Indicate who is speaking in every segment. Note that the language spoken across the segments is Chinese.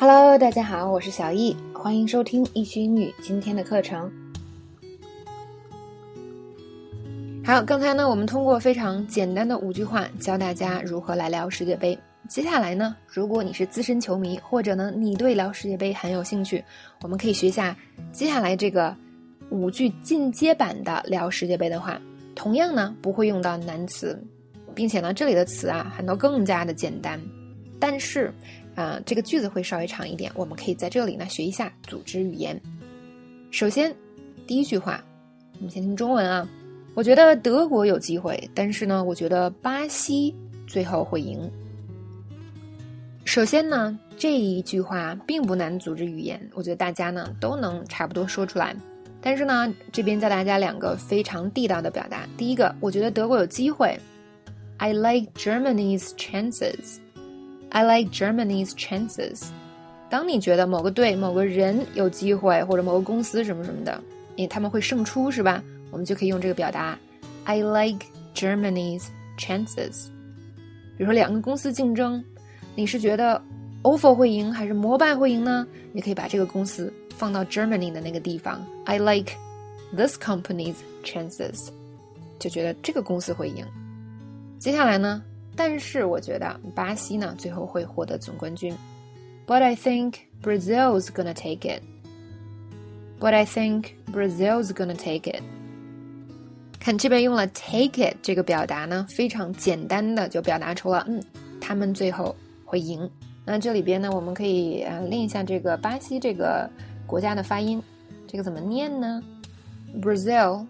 Speaker 1: Hello， 大家好，我是小易，欢迎收听易趣英语今天的课程。好，刚才呢，我们通过非常简单的5句话教大家如何来聊世界杯。接下来呢，如果你是资深球迷，或者呢你对聊世界杯很有兴趣，我们可以学下接下来这个5句进阶版的聊世界杯的话，同样呢不会用到难词，并且呢这里的词啊很多更加的简单，但是这个句子会稍微长一点，我们可以在这里呢学一下组织语言。首先第一句话，我们先听中文啊。我觉得德国有机会，但是呢我觉得巴西最后会赢。首先呢这一句话并不难组织语言，我觉得大家呢都能差不多说出来。但是呢这边教大家2个非常地道的表达。第一个，我觉得德国有机会， I like Germany's chances。 I like Germany's chances。 当你觉得某个队某个人有机会，或者某个公司什么什么的，因为他们会胜出是吧，我们就可以用这个表达 I like Germany's chances。 比如说2个公司竞争，你是觉得 OFO 会赢还是摩拜会赢呢？你可以把这个公司放到 Germany 的那个地方， I like this company's chances， 就觉得这个公司会赢。接下来呢，但是我觉得巴西呢最后会获得总冠军， But I think Brazil's gonna take it。 But I think Brazil's gonna take it。 看这边用了 take it 这个表达呢，非常简单的就表达出了他们最后会赢。那这里边呢我们可以练一下这个巴西这个国家的发音，这个怎么念呢？ Brazil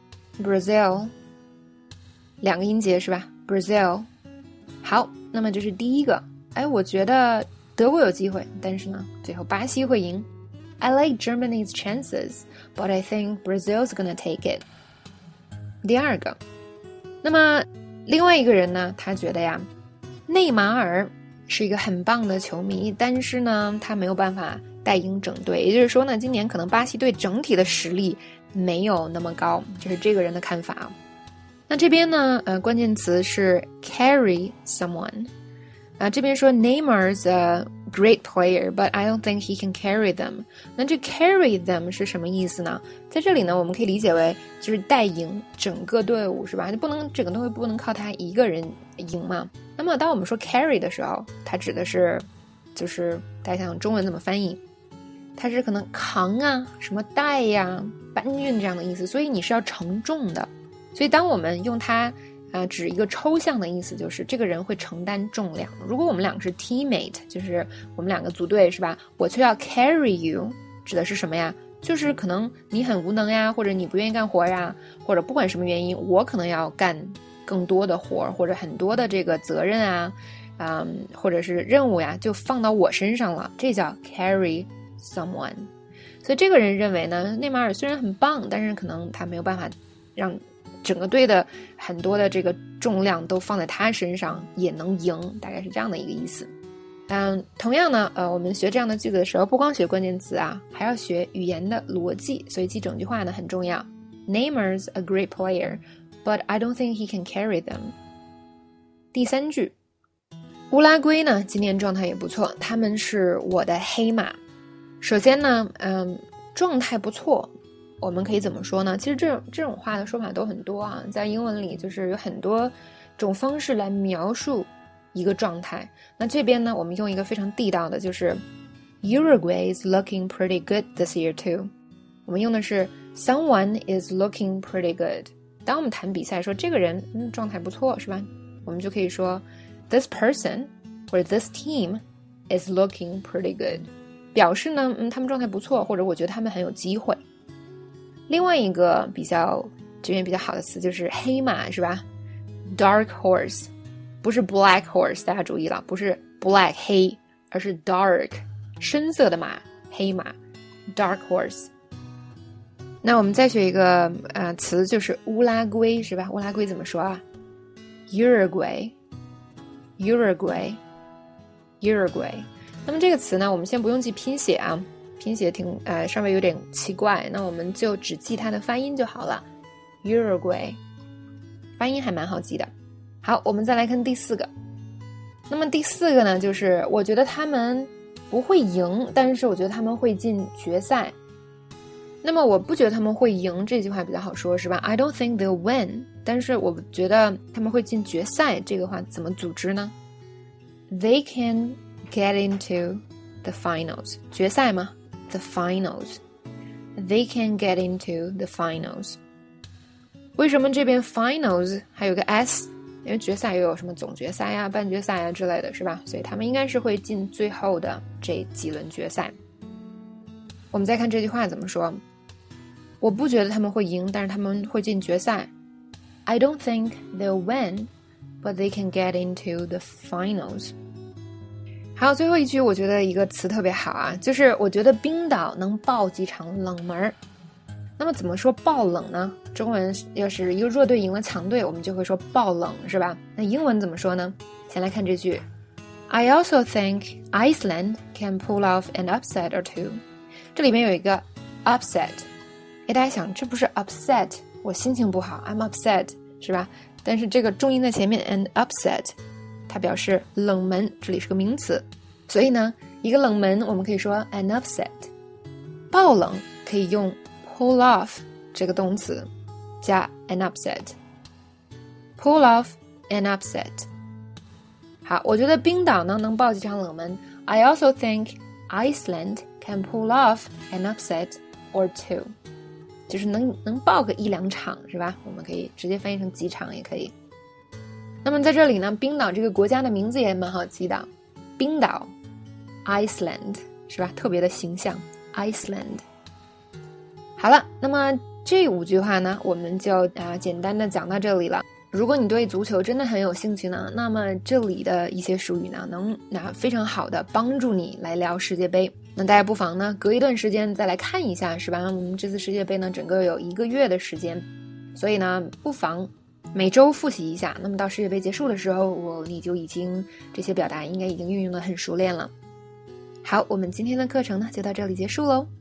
Speaker 1: 2个音节是吧？ Brazil。 好，那么这是第一个，我觉得德国有机会，但是呢最后巴西会赢。 I like Germany's chances, but I think Brazil's gonna take it。 第二个，那么另外一个人呢，他觉得呀内马尔是一个很棒的球迷，但是呢他没有办法带赢整队，也就是说呢今年可能巴西队整体的实力没有那么高，这是这个人的看法。那这边呢关键词是 carry someone。这边说 Neymar's a great player, but I don't think he can carry them。 那这 carry them 是什么意思呢？在这里呢我们可以理解为就是带赢整个队伍是吧？就不能整个队伍不能靠他一个人赢嘛。那么当我们说 carry 的时候，它指的是就是大家想中文怎么翻译，它是可能扛啊什么带呀搬运这样的意思，所以你是要承重的。所以当我们用它指一个抽象的意思，就是这个人会承担重量。如果我们2个是 teammate， 就是我们2个组队是吧，我就要 carry you， 指的是什么呀？就是可能你很无能呀，或者你不愿意干活呀，或者不管什么原因，我可能要干更多的活，或者很多的这个责任啊或者是任务呀就放到我身上了，这叫 carry someone。 所以这个人认为呢，内马尔虽然很棒，但是可能他没有办法让整个队的很多的这个重量都放在他身上也能赢，大概是这样的一个意思。同样呢我们学这样的句子的时候，不光学关键词啊，还要学语言的逻辑，所以记整句话呢很重要。 Neymar's a great player, but I don't think he can carry them。 第3句，乌拉圭呢今年状态也不错，他们是我的黑马。首先呢状态不错我们可以怎么说呢？其实这种话的说法都很多啊，在英文里就是有很多种方式来描述一个状态。那这边呢我们用一个非常地道的，就是 Uruguay is looking pretty good this year too。 我们用的是 someone is looking pretty good。 当我们谈比赛说这个人状态不错是吧，我们就可以说 this person 或者 this team is looking pretty good， 表示呢他们状态不错，或者我觉得他们很有机会。另外一个这边比较好的词就是黑马是吧， dark horse， 不是 black horse， 大家注意了，不是 black 黑，而是 dark 深色的马，黑马 dark horse。 那我们再学一个词，就是乌拉圭是吧？乌拉圭怎么说啊？ Uruguay。 那么这个词呢我们先不用记拼写啊，拼写稍微有点奇怪，那我们就只记它的发音就好了。 Uruguay 发音还蛮好记的。好，我们再来看第4个。那么第4个呢，就是我觉得他们不会赢，但是我觉得他们会进决赛。那么我不觉得他们会赢这句话比较好说，是吧？ I don't think they'll win， 但是我觉得他们会进决赛，这个话怎么组织呢？ They can get into the finals， 决赛吗？ The finals， They can get into the finals。 为什么这边 finals 还有个 s？ 因为决赛又有什么总决赛啊、半决赛啊之类的，是吧？所以他们应该是会进最后的这几轮决赛。我们再看这句话怎么说，我不觉得他们会赢，但是他们会进决赛。 I don't think they'll win, but they can get into the finals。 还有最后一句我觉得一个词特别好啊，就是我觉得冰岛能爆几场冷门。那么怎么说爆冷呢？中文要是一个弱队赢了强队，我们就会说爆冷，是吧？那英文怎么说呢？先来看这句 I also think Iceland can pull off an upset or two。 这里面有一个 upset， 大家想这不是 upset 我心情不好 I'm upset， 是吧？但是这个重音在前面 and upset 它表示冷门，这里是个名词，所以呢一个冷门我们可以说 an upset。 爆冷可以用pull off 这个动词加 an upset， pull off an upset。 好，我觉得冰岛呢能爆几场冷门。 I also think Iceland can pull off an upset or two， 就是能爆个一两场，是吧？我们可以直接翻译成几场也可以。那么在这里呢，冰岛这个国家的名字也蛮好记的，冰岛 Iceland， 是吧？特别的形象 Iceland。好了，那么这5句话呢，我们就简单的讲到这里了。如果你对足球真的很有兴趣呢，那么这里的一些术语呢，能非常好的帮助你来聊世界杯。那大家不妨呢，隔一段时间再来看一下，是吧？我们这次世界杯呢，整个有1个月的时间，所以呢，不妨每周复习一下。那么到世界杯结束的时候，你就已经这些表达应该已经运用得很熟练了。好，我们今天的课程呢，就到这里结束喽。